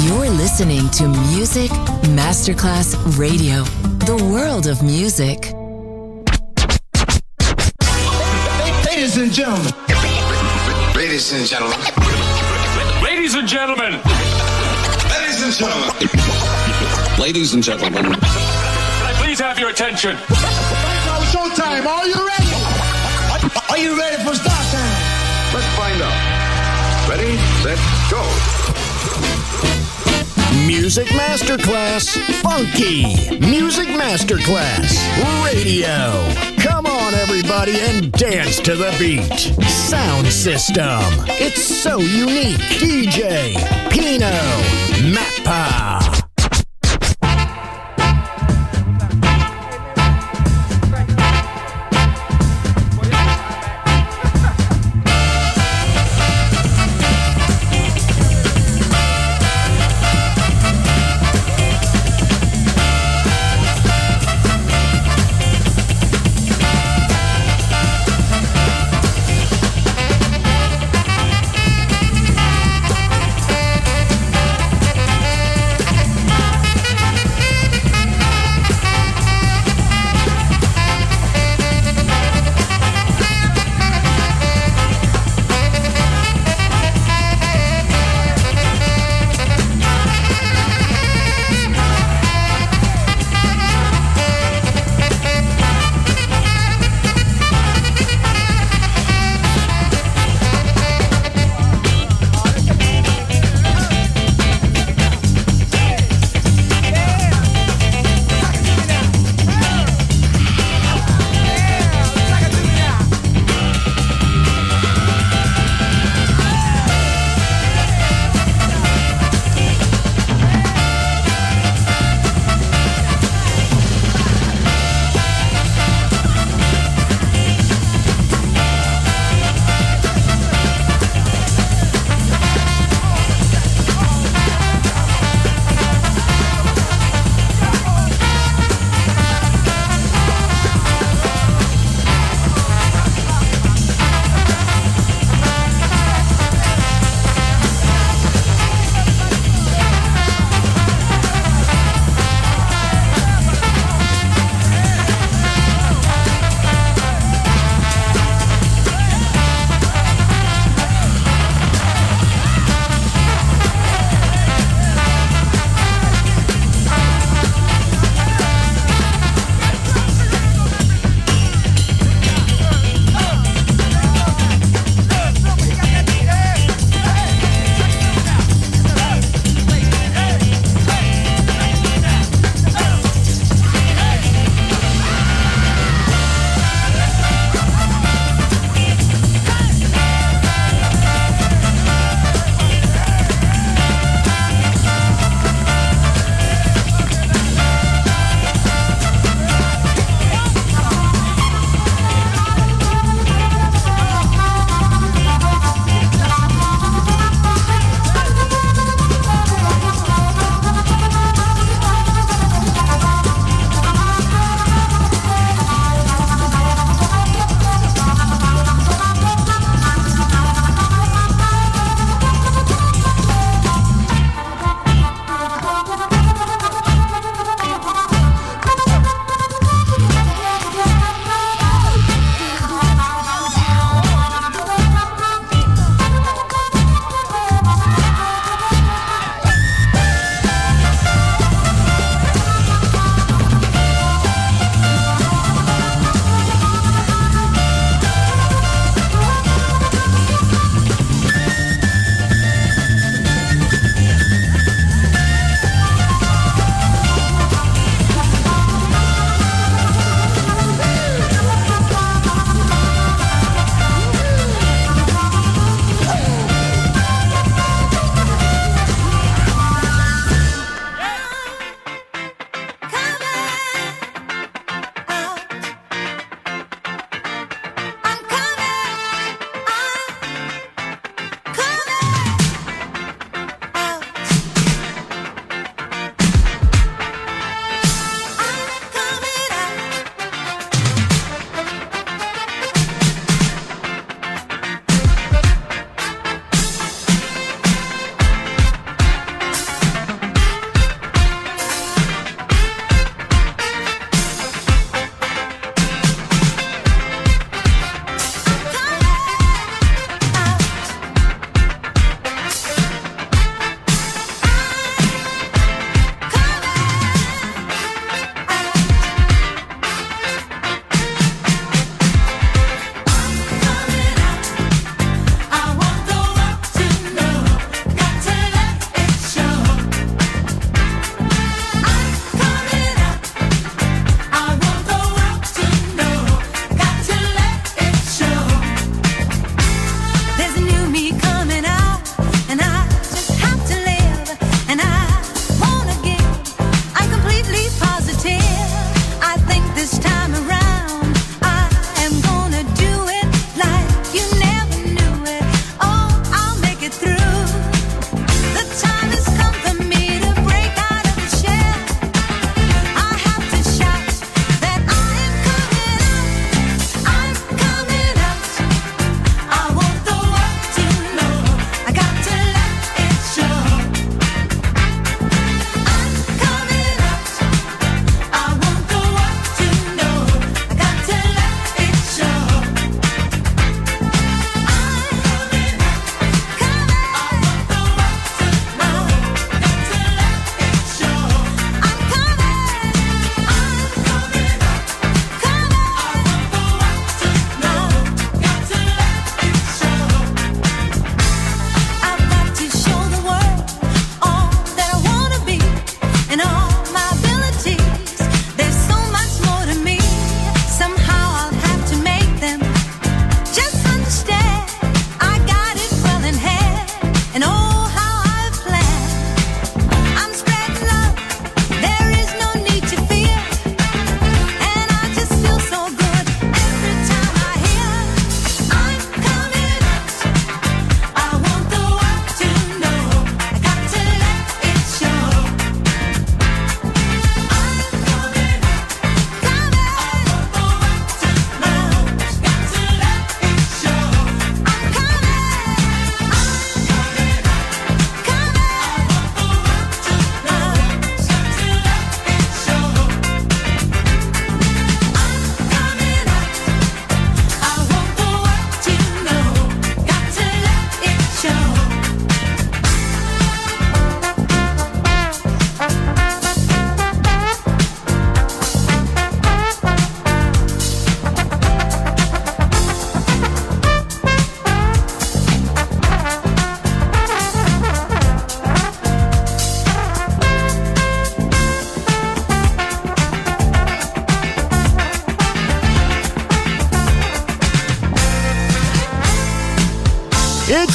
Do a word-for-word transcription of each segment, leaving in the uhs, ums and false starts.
You're listening to Music Masterclass Radio, the world of music. Ladies and gentlemen. Ladies and gentlemen. Ladies and gentlemen. Ladies and gentlemen. Ladies and gentlemen. Can I please have your attention? Now showtime. Are you ready? Are you ready for start time? Let's find out. Ready, set, go. Music Masterclass Funky. Music Masterclass Radio. Come on, everybody, and dance to the beat. Sound system. It's so unique. D J Pino Mappa.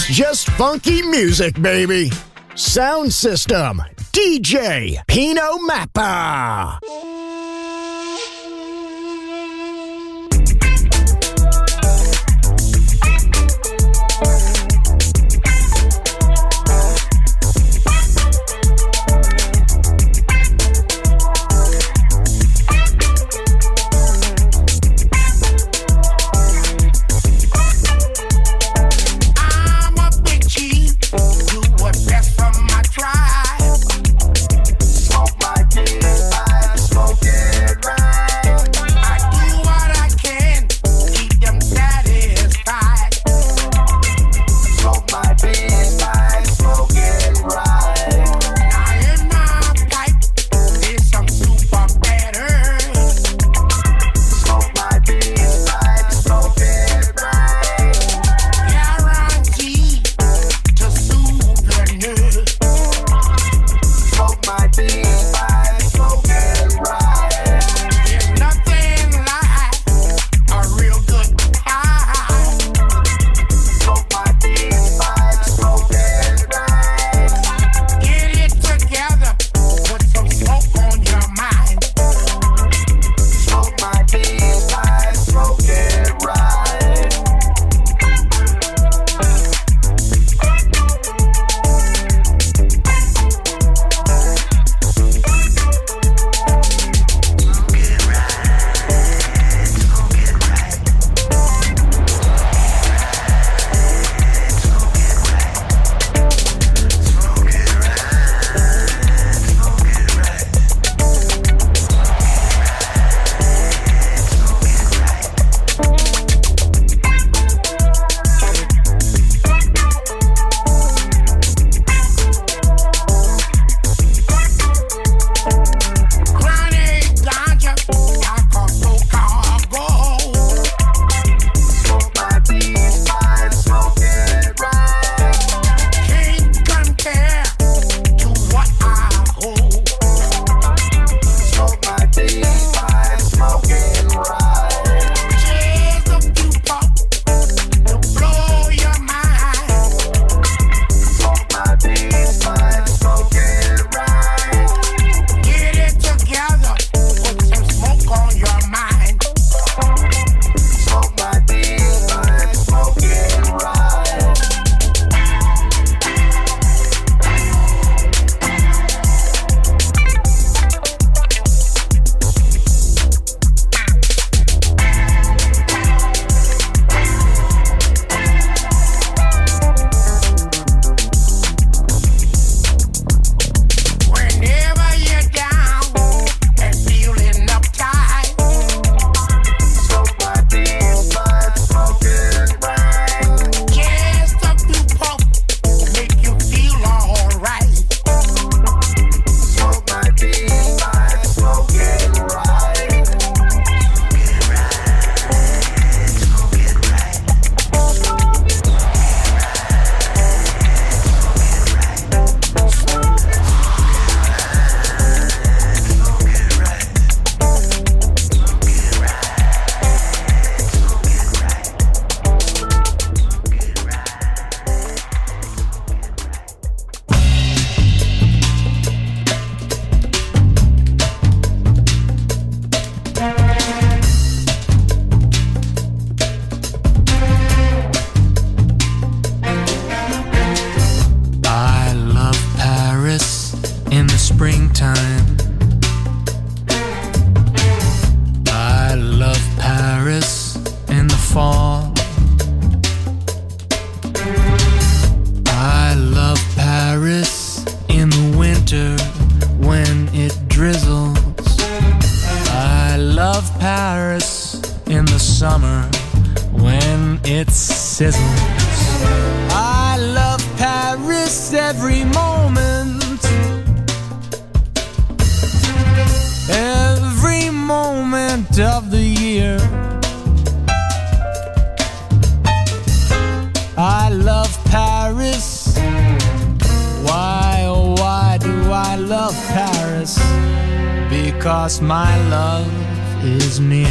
just funky music, baby. Sound system, D J Pino Mappa. Because my love is near.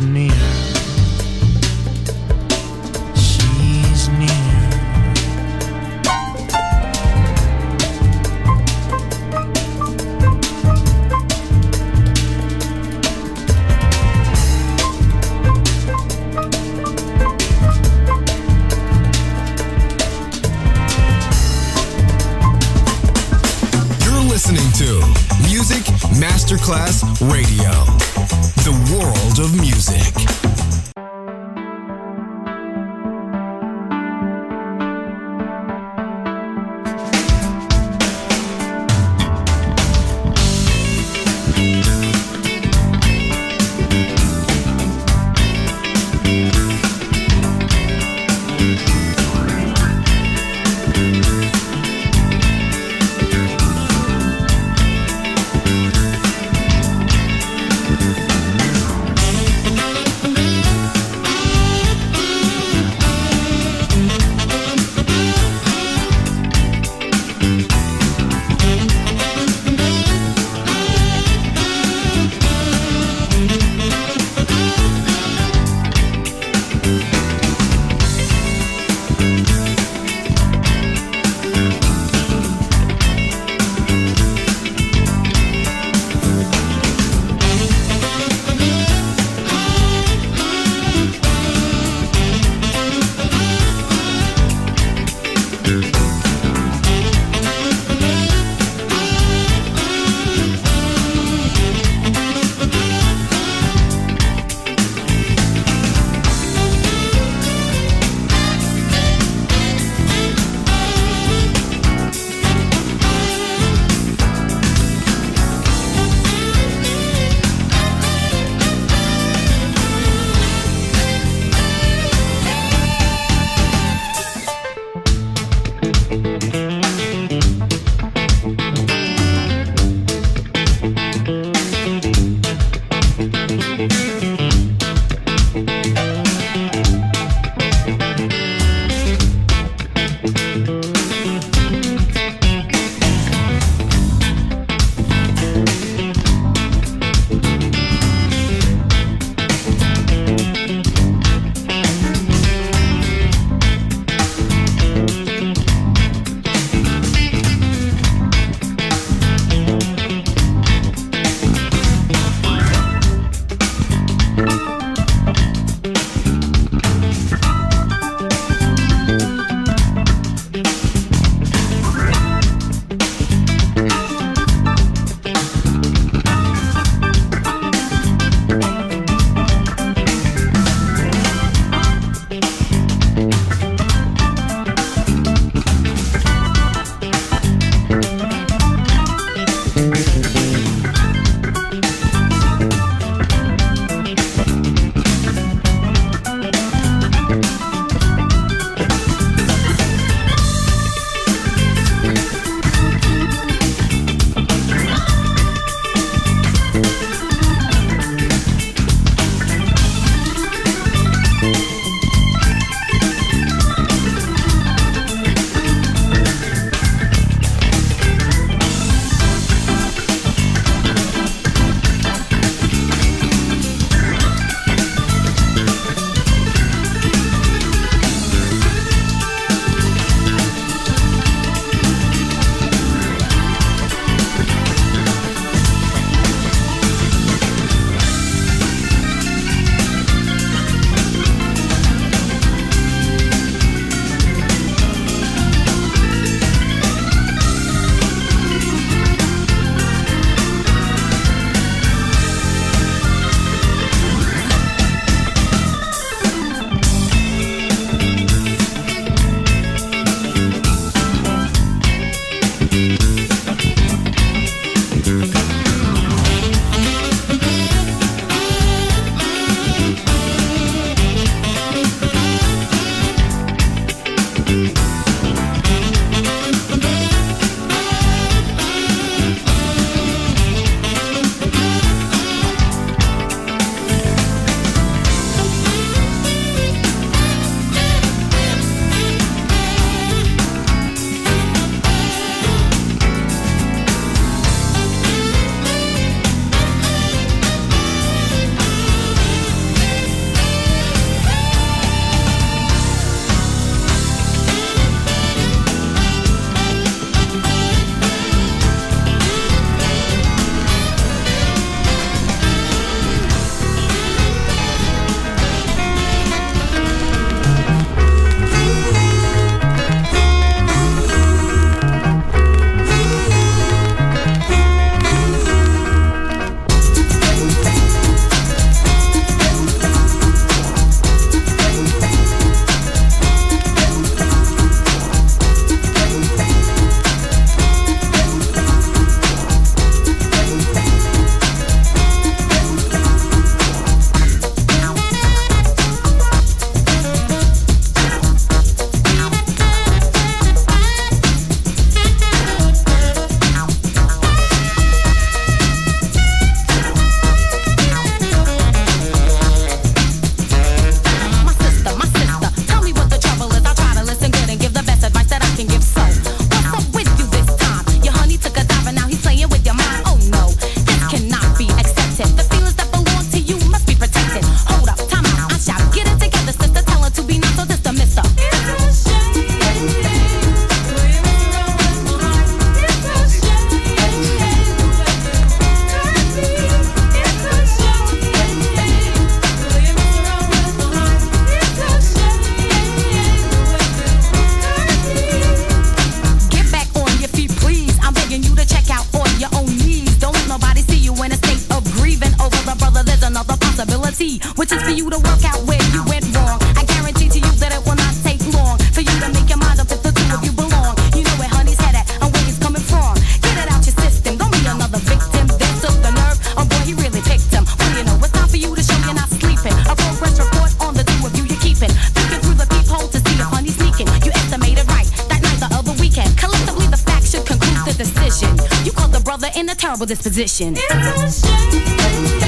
near. She's near. Listening to Music Masterclass Radio, the world of music. you to work out where you went wrong. I guarantee to you that it will not take long for you to make your mind up if the two of you belong. You know where honey's head at and where he's coming from. Get it out your system, don't be another victim. Then took the nerve, oh boy, he really picked him. Well, you know, it's time for you to show you're not sleeping. A progress report on the two of you you're keeping. Peeking through the peephole to see if honey's sneaking. You estimated right that night the other weekend. Collectively the facts should conclude the decision. You caught the brother in a terrible disposition. It's a shame.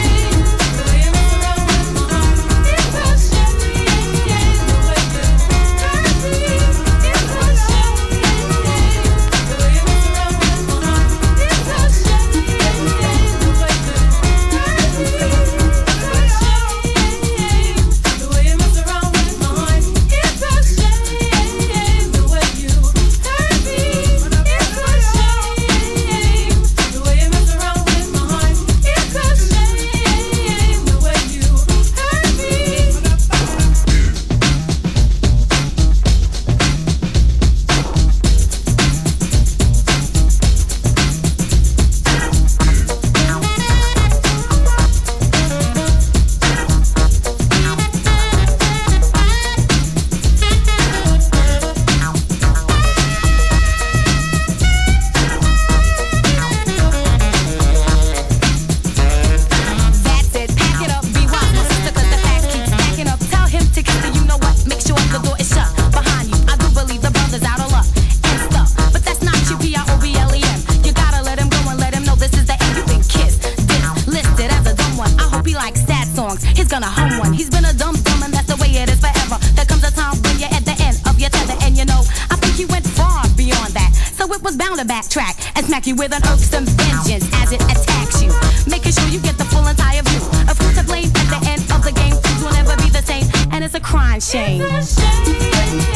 You with an irksome vengeance as it attacks you, making sure you get the full entire view of who's to blame at the end of the game. Things will never be the same, and it's a crying shame. It's a shame.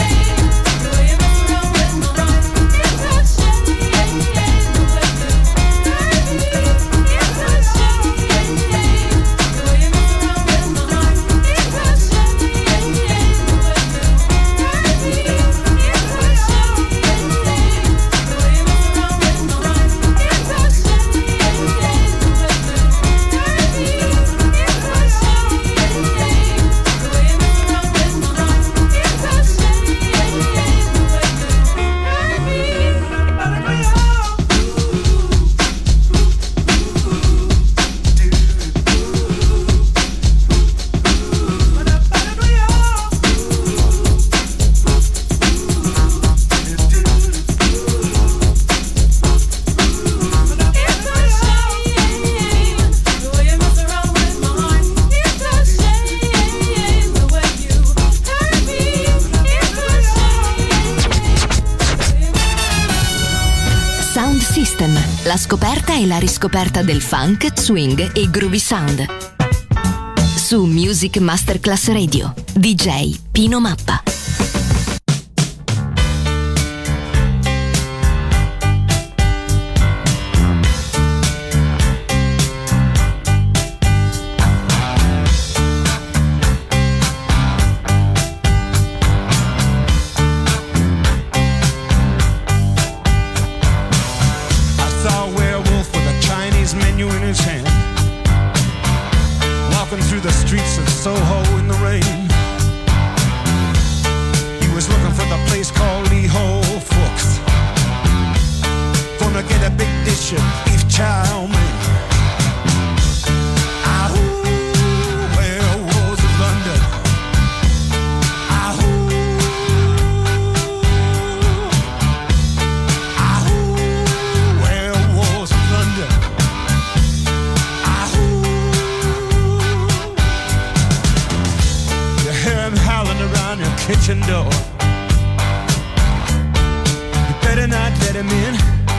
La scoperta e la riscoperta del funk, swing e groovy sound. Su Music Masterclass Radio, D J Pino Mappa. Kitchen door. You better not let him in.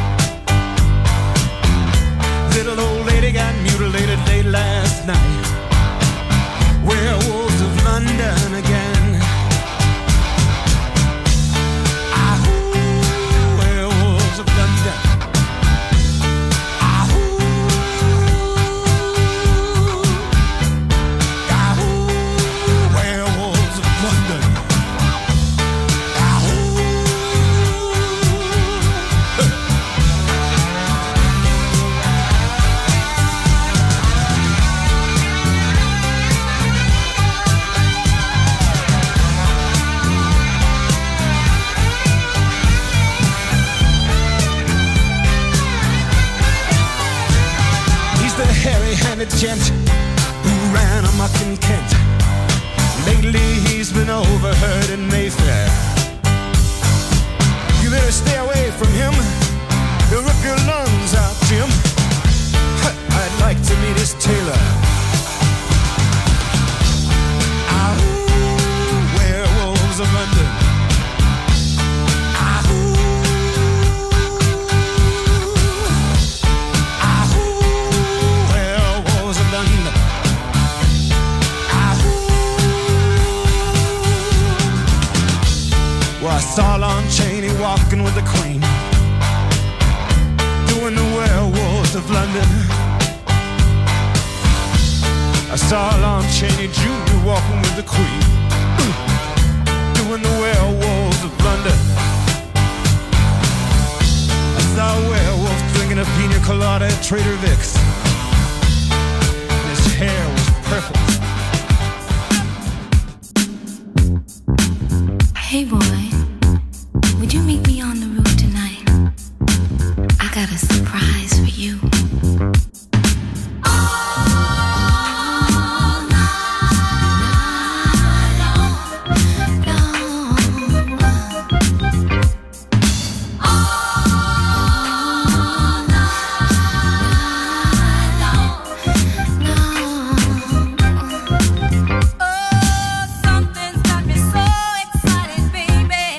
Little old lady got mutilated late last night. Werewolves of London again. Ahoo, werewolves of London. Ahoo, ahoo, werewolves of London. It's been overheard in Mayfair. You better stay away from him. He'll rip your lungs out, Jim. I'd like to meet his tailor. Ah, ooh, werewolves of London. Ah, ooh. Ah, ooh, werewolves of London. Ah, ooh. Well, I saw Lon Chaney walking with the Queen, doing the werewolves of London. I saw Lon Chaney Junior walking with the Queen, doing the werewolves of London. I saw a werewolf drinking a pina colada at Trader Vic's. His hair was purple. Hey boy, would you meet me on the roof tonight? I got a surprise for you. Baby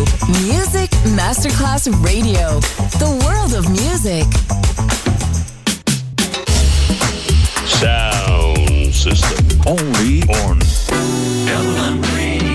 Music Masterclass Radio. The world of music. Sound system. Only on L M Radio.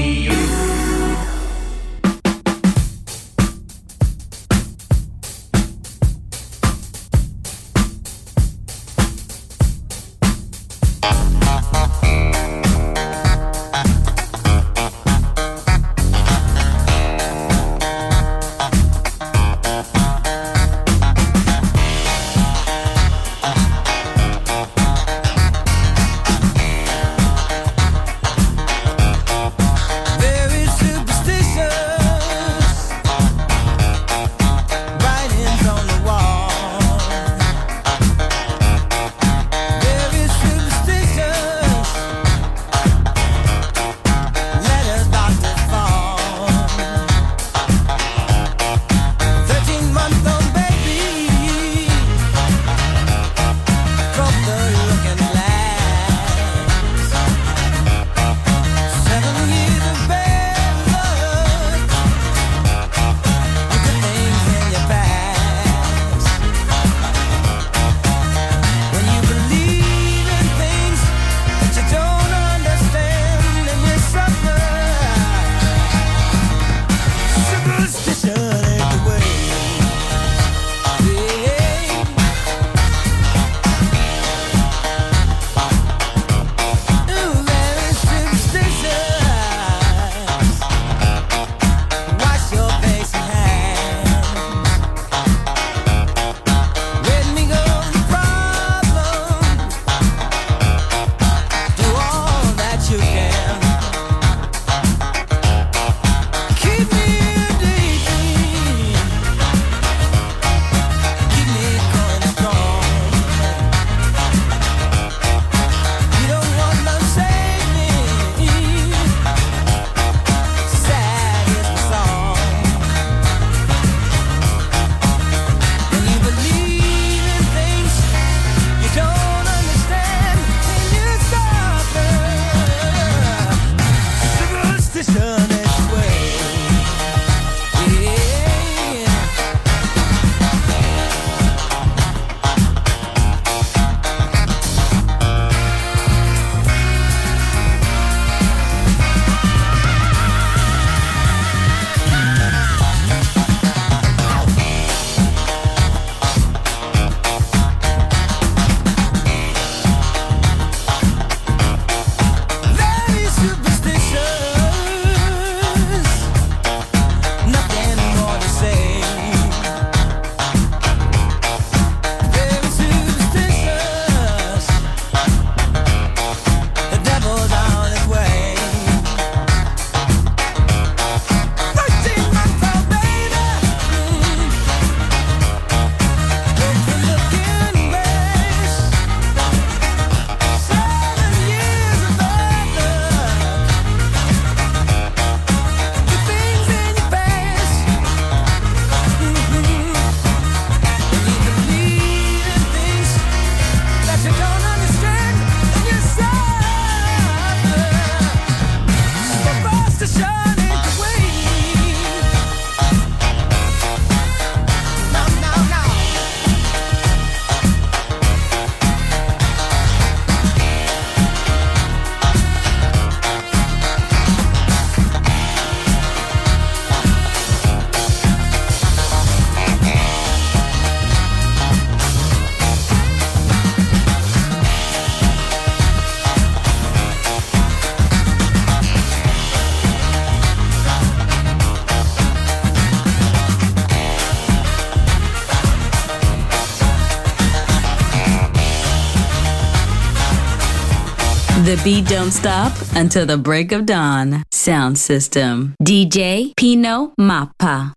The beat don't stop until the break of dawn. Sound system. D J Pino Mappa.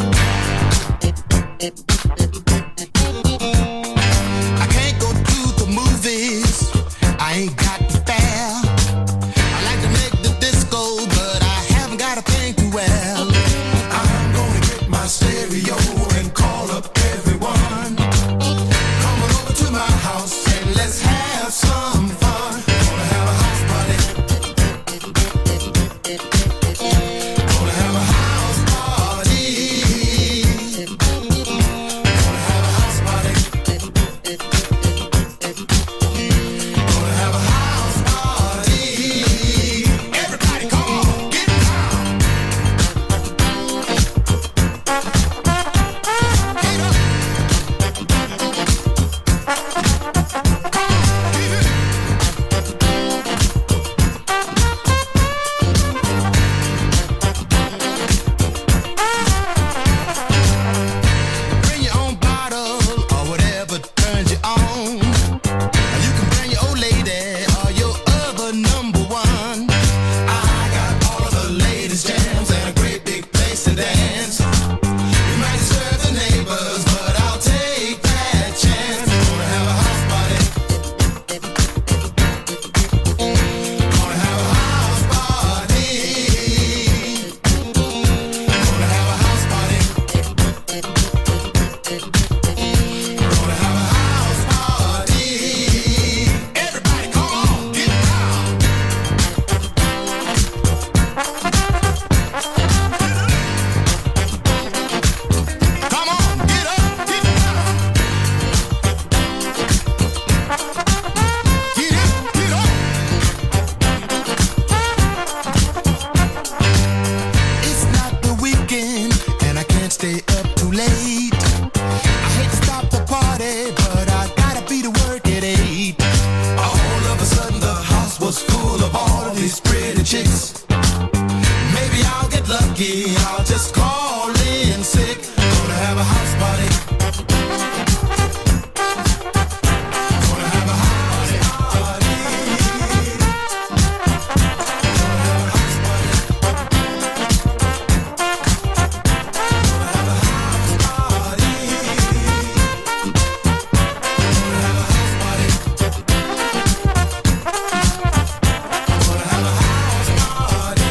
I can't go to the chicks. Maybe I'll get lucky, I'll just call in sick. Gonna have a house party. Gonna have a house party. Gonna have a house party. Gonna have a house party. Gonna have a house party. Gonna have a house party.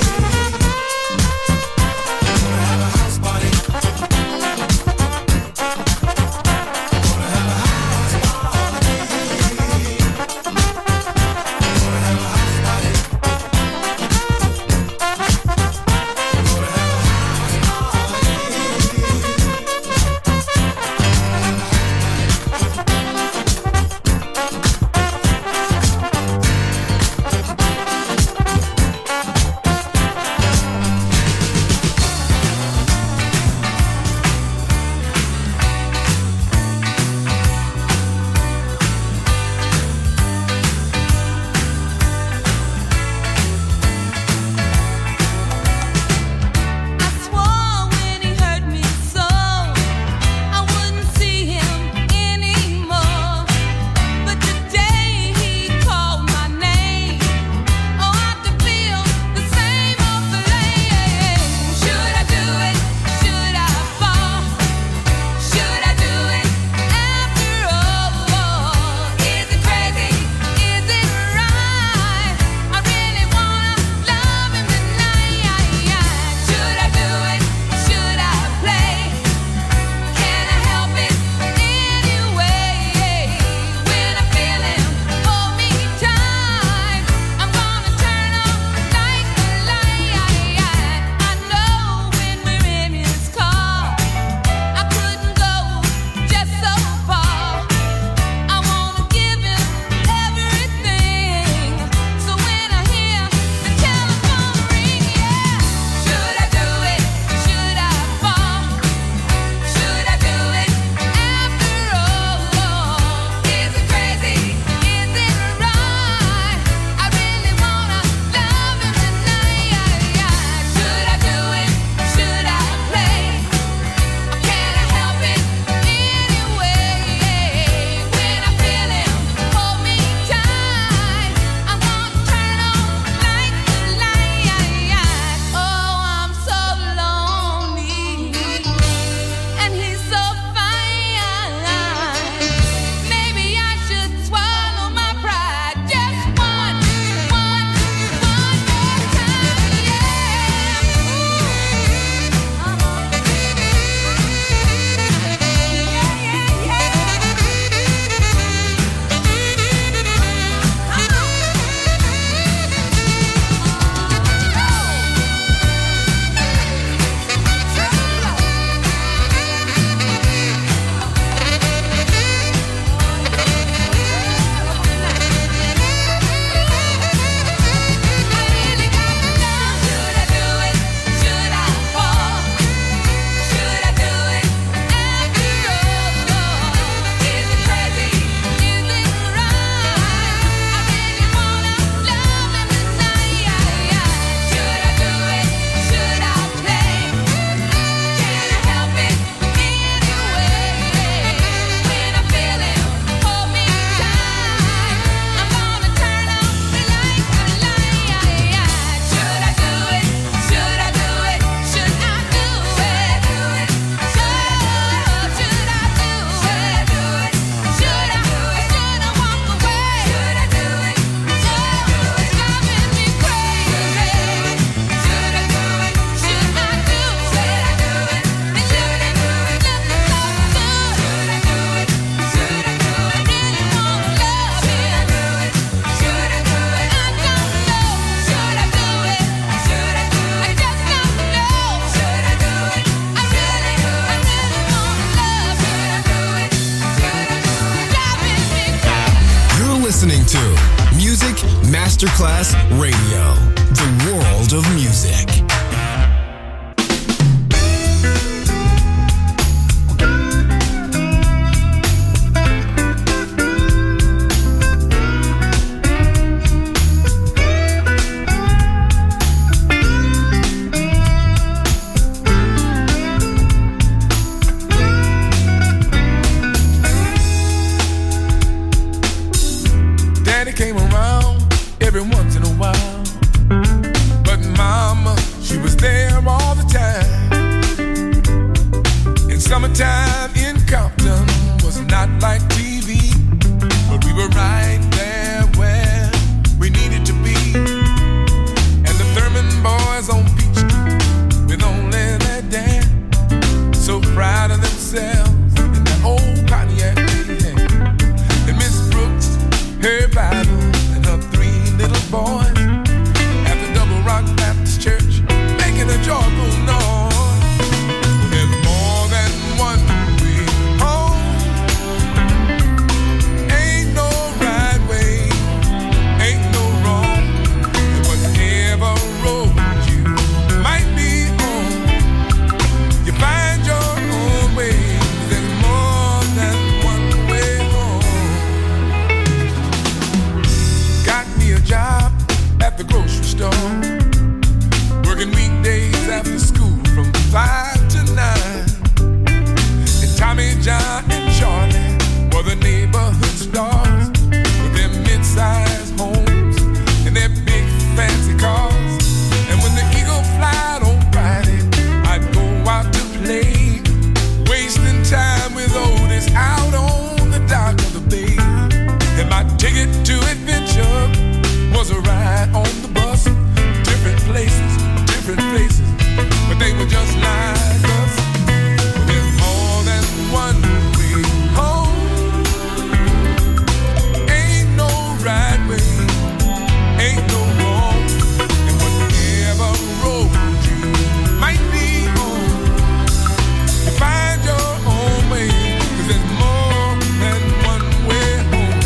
listening to Music Masterclass Radio, the world of music. came around every once in a while, but mama, she was there all the time. And summertime in Compton was not like T V, but we were right there where we needed to be. And the Thurman boys on Peach Street with only their dad, so proud of themselves in that old Pontiac they had. And Miss Brooks, her Bible, and her three little boys at the Double Rock Baptist Church making a joyful noise. There's more than one way home. Ain't no right way, ain't no wrong. And whatever road you might be on, you find your own way. There's more than one way home. Got me a job at the grocery store, working weekdays after school from five to nine. And Tommy, John, and Charlie were the neighborhood stars with their mid-sized homes and their big fancy cars. And when the Eagle flied on Friday, I'd go out to play, wasting time with Otis out on the dock of the bay. And my ticket to adventure was a ride on the bus, different places, different faces, but they were just like us. There's more than one way home. Ain't no right way, ain't no wrong. And whatever road you might be on, you find your own way, 'cause there's more than one way home.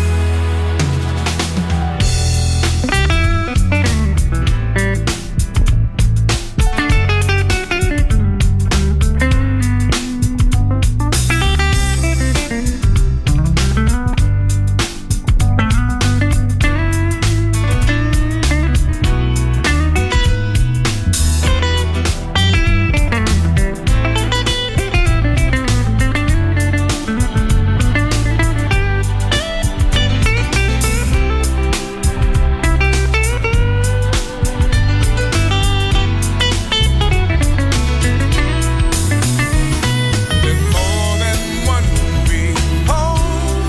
There's more than one way home.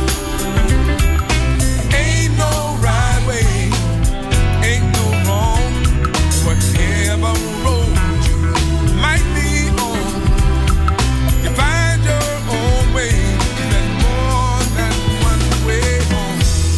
Ain't no right way, ain't no wrong. Whatever road you might be on, you find your own way. There's more than one way home.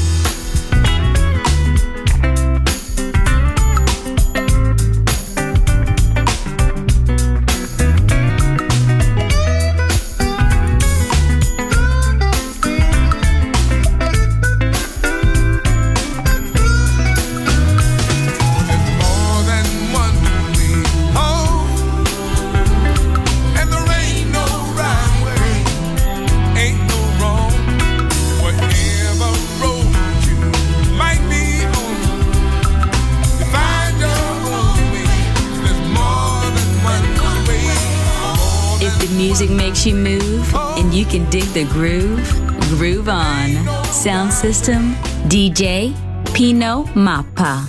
There's more than one way home. And there ain't no right way, ain't no wrong. Whatever road you might be on, you find your own way. There's more than one way. If the music makes you move and you can dig the groove, groove on. Sound system, D J Pino Mappa.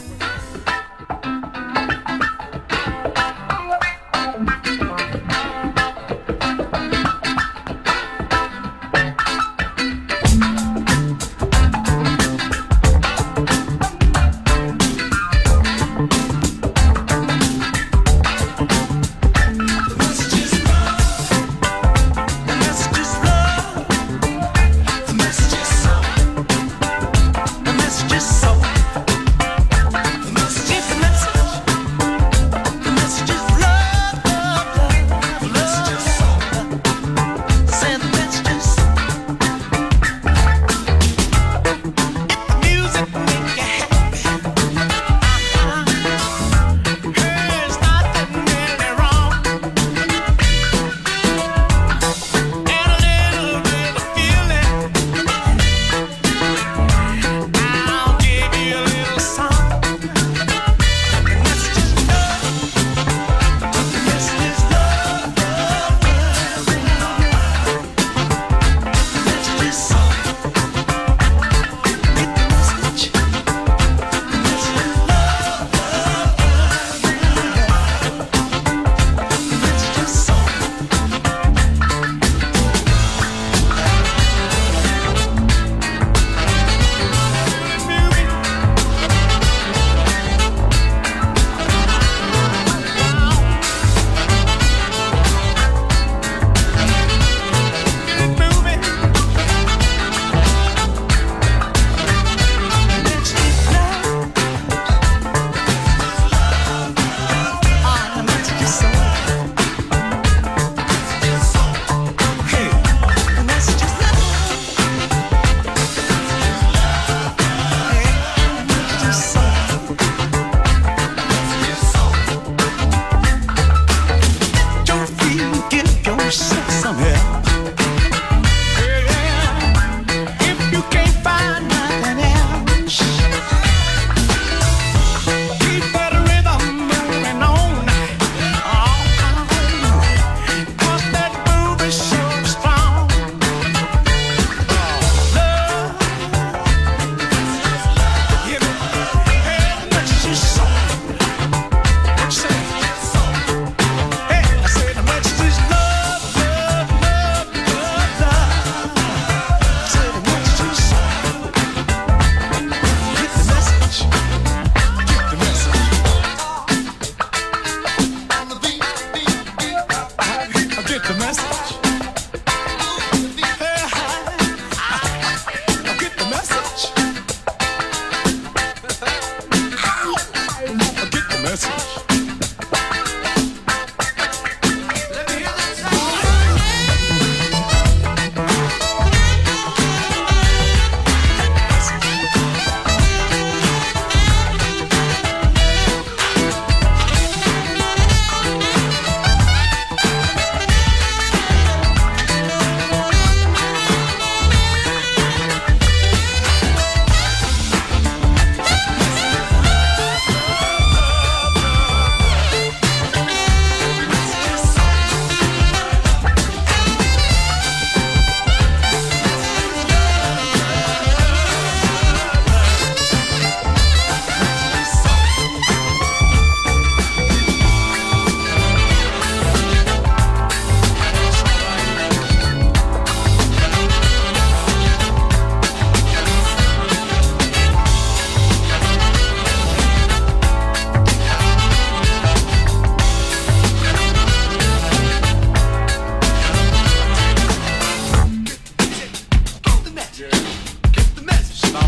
Messages so, messages so.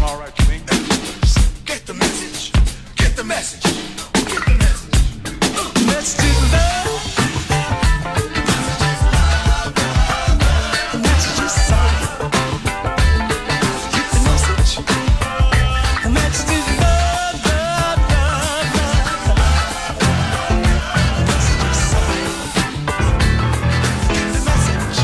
all right, Swing. Get the message. Get the message. Get the message. Message is love. Message is soul. Get the message. The message is love, love, love, love. Message is soul. Get the message.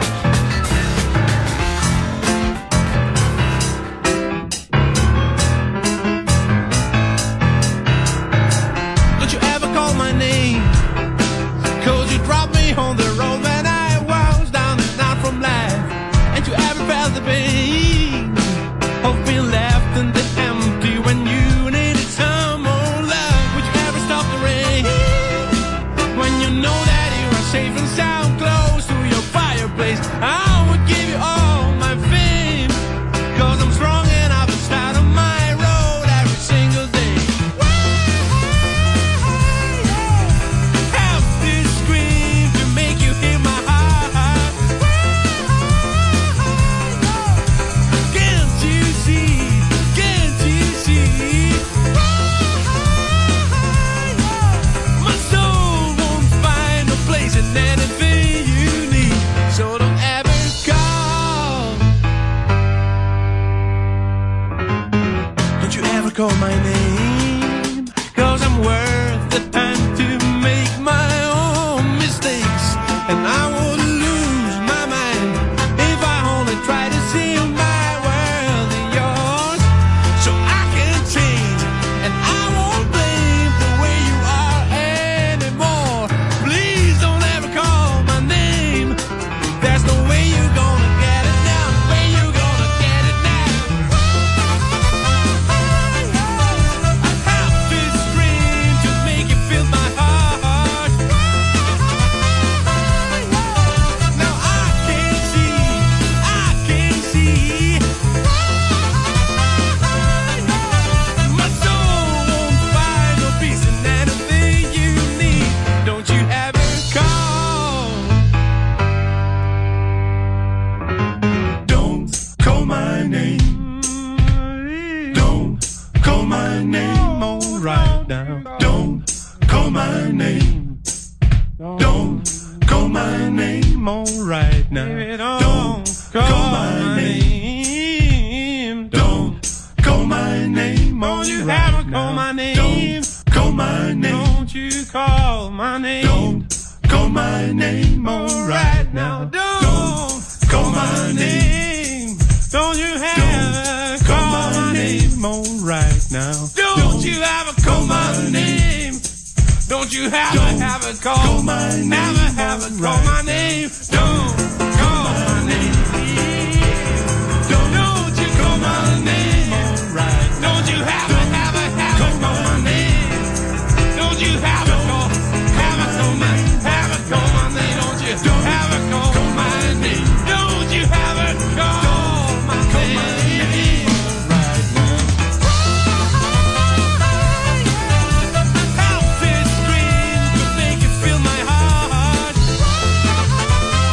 Don't you ever call my name, 'cause you dropped me on the road when I was down and out from life. And you ever felt the pain of being left in the empty when you needed some more love? Would you ever stop the rain when you know that you are safe and sound close to your fireplace? I would give you all my fame, 'cause I'm strong and I've been starting on my road every single day. Have this scream to make you hear my heart. Can't you see? Can't you see? My soul won't find a place in anything you need. So don't ever call. Don't you ever call my name, 'cause I'm worth the time to make my own mistakes. And I would lose my mind if I only try to see my world in yours. So I can change, and I won't blame the way you are anymore. Please don't ever call my name. There's no way you're gonna get it now. Way you gonna get it now. I have this dream to make you feel my heart. Now I can see, I can see. My soul won't find no peace in anything you need. Don't you ever call. Don't call my name. Don't call my name. All right now. Don't call my name. Don't call my name. All right now. Don't call my name. Don't call my name. Don't you ever call my name. Don't call my name. Don't you call my name. Don't call my name. All right now. Don't call my name. Don't you ever call my name. All right now. Don't you ever call my name. Don't you ever have a call my name. Never have a call my name. Don't call my name. Don't, don't you call my name. All right. Don't you have a have a have a call my name. Don't you have a call have a call my have a call my name. Don't you have a call my name. Don't you have a call my name. Right now. Help this scream to make you feel my heart.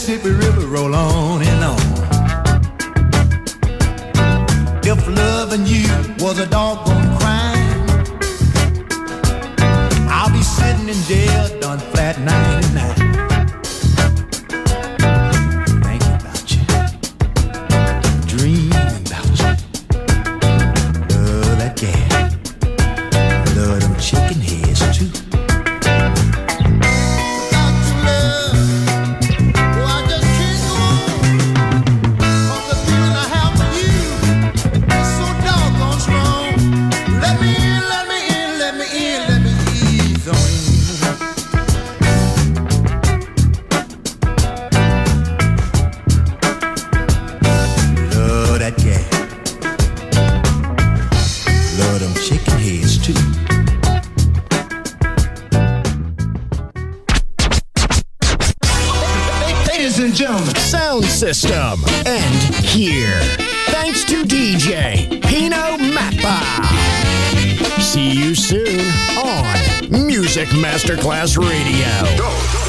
Mississippi River roll on and on. If loving you was a doggone crime, I'll be sitting in jail done flat ninety-nine. Thinking about you, dreaming about you. Love that gal, love them chicken heads too. Sound system. And here, thanks to D J Pino Mappa. See you soon on Music Masterclass Radio. Go.